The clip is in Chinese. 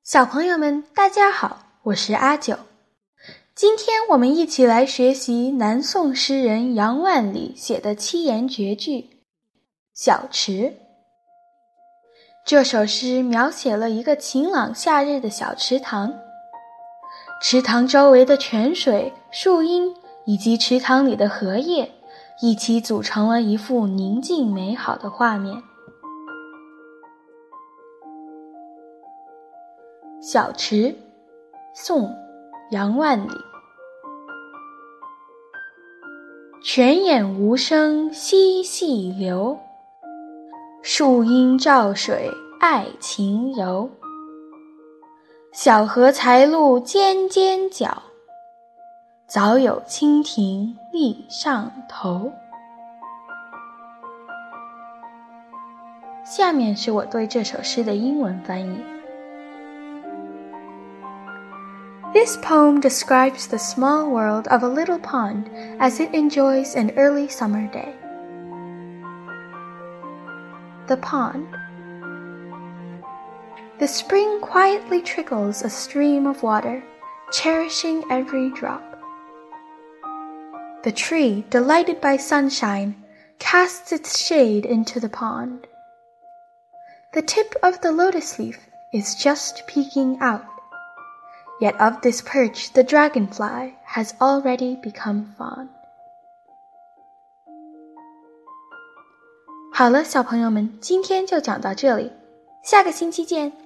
小朋友们，大家好，我是阿九。今天我们一起来学习南宋诗人杨万里写的七言绝句《小池》。这首诗描写了一个晴朗夏日的小池塘，池塘周围的泉水、树荫以及池塘里的荷叶一起组成了一幅宁静美好的画面。小池，宋，杨万里。泉眼无声惜细流，树阴照水爱晴柔。小荷才露尖尖角，早有蜻蜓立上头。下面是我对这首诗的英文翻译。This poem describes the small world of a little pond as it enjoys an early summer day. The pond. The spring quietly trickles a stream of water, cherishing every drop. The tree, delighted by sunshine, casts its shade into the pond. The tip of the lotus leaf is just peeking out.Yet of this perch the dragonfly has already become fond. 好了，小朋友们，今天就讲到这里，下个星期见。